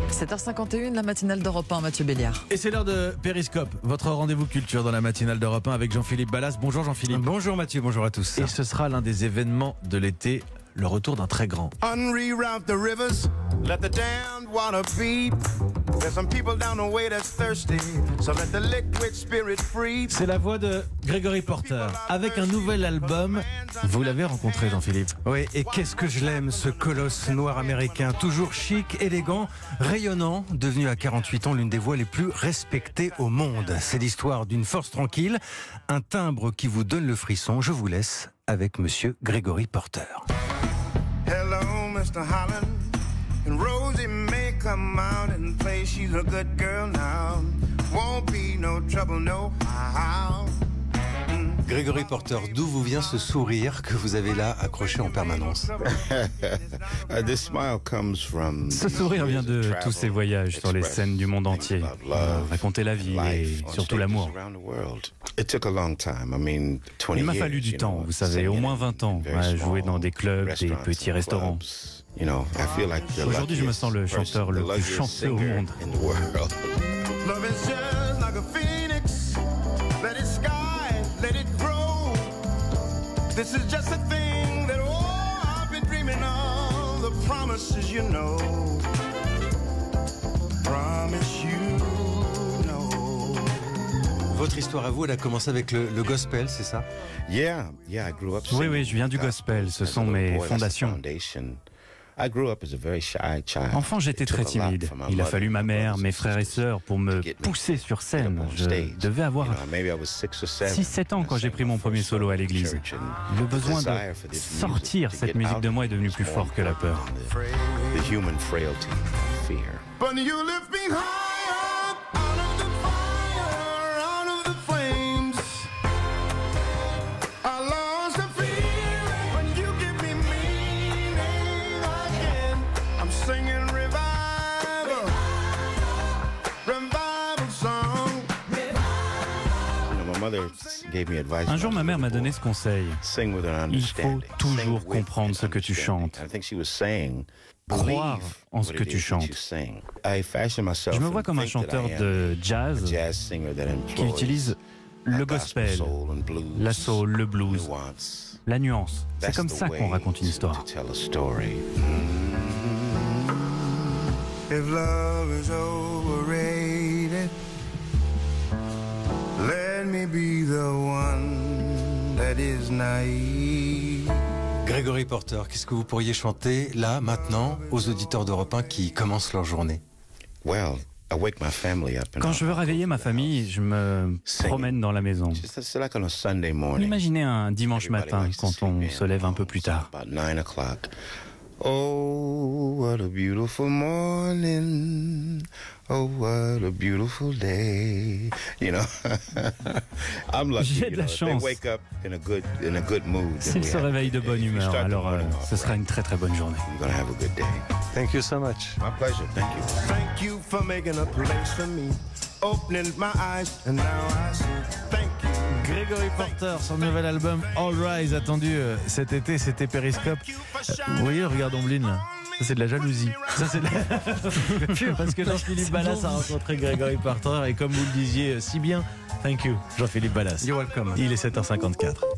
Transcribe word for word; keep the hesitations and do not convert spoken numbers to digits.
sept heures cinquante et une, la matinale d'Europe un, Mathieu Béliard. Et c'est l'heure de Périscope, votre rendez-vous culture dans la matinale d'Europe un avec Jean-Philippe Ballas. Bonjour Jean-Philippe. Bonjour Mathieu, bonjour à tous. Et ce sera l'un des événements de l'été, le retour d'un très grand. Unreroute the rivers, let the damned water beat. There's some people down the way that's thirsty, so let the liquid spirit free. C'est la voix de Gregory Porter, avec un nouvel album. Vous l'avez rencontré Jean-Philippe. Oui, et qu'est-ce que je l'aime, ce colosse noir américain, toujours chic, élégant, rayonnant, devenu à quarante-huit ans l'une des voix les plus respectées au monde. C'est l'histoire d'une force tranquille, un timbre qui vous donne le frisson. Je vous laisse avec monsieur Gregory Porter. Hello, Mister Holland, and Rosie may come out and play. She's a good girl now. Won't be no trouble, no how. Gregory Porter, d'où vous vient ce sourire que vous avez là accroché en permanence? Ce sourire vient de tous ces voyages sur les scènes du monde entier. Euh, raconter la vie et surtout l'amour. Il m'a fallu du temps, vous savez, au moins vingt ans, à jouer dans des clubs, des petits restaurants. Aujourd'hui, je me sens le chanteur le plus chanceux au monde. Love is just like a phoenix. Let it sky, let it grow. This is just a thing that oh, I've been dreaming of. The promises you know. Promise you know. Votre histoire à vous, elle a commencé avec le, le gospel, c'est ça? Oui, oui, je viens du gospel, ce sont mes fondations. Enfant, j'étais très timide. Il a fallu ma mère, mes frères et sœurs pour me pousser sur scène. Je devais avoir six sept ans quand j'ai pris mon premier solo à l'église. Le besoin de sortir cette musique de moi est devenu plus fort que la peur. But you lift me high up out of the fire, out of the flames. I lost the fear when you give me meaning again. I'm singing revival, revival song. Un jour, ma mère m'a donné ce conseil. Il faut toujours comprendre ce que tu chantes. Croire en ce que tu chantes. Je me vois comme un chanteur de jazz qui utilise le gospel, la soul, le blues, la nuance. C'est comme ça qu'on raconte une histoire. If love is overrated, let me be the one that is naive. Gregory Porter, qu'est-ce que vous pourriez chanter là, maintenant, aux auditeurs d'Europe un qui commencent leur journée? Quand je veux réveiller ma famille, je me promène dans la maison. Imaginez un dimanche matin quand on se lève un peu plus tard. Oh, what a beautiful morning. Oh, what a beautiful day. You know, I'm lucky. J'ai de la chance. S'ils se réveillent de bonne humeur, alors euh, ce sera une très très bonne journée. You're gonna have a good day. Thank you so much. My pleasure. Thank you. Thank you for making a place for me. Opening my eyes and now I see. Thank you. Gregory Porter, son nouvel album All Rise, attendu euh, cet été, c'était Périscope. Euh, vous voyez le regard d'Omblin là? Ça c'est de la jalousie. Ça c'est de la... Parce que Jean-Philippe Ballas a rencontré Gregory Porter et comme vous le disiez si bien, thank you Jean-Philippe Ballas. You're welcome. Il est sept heures cinquante-quatre.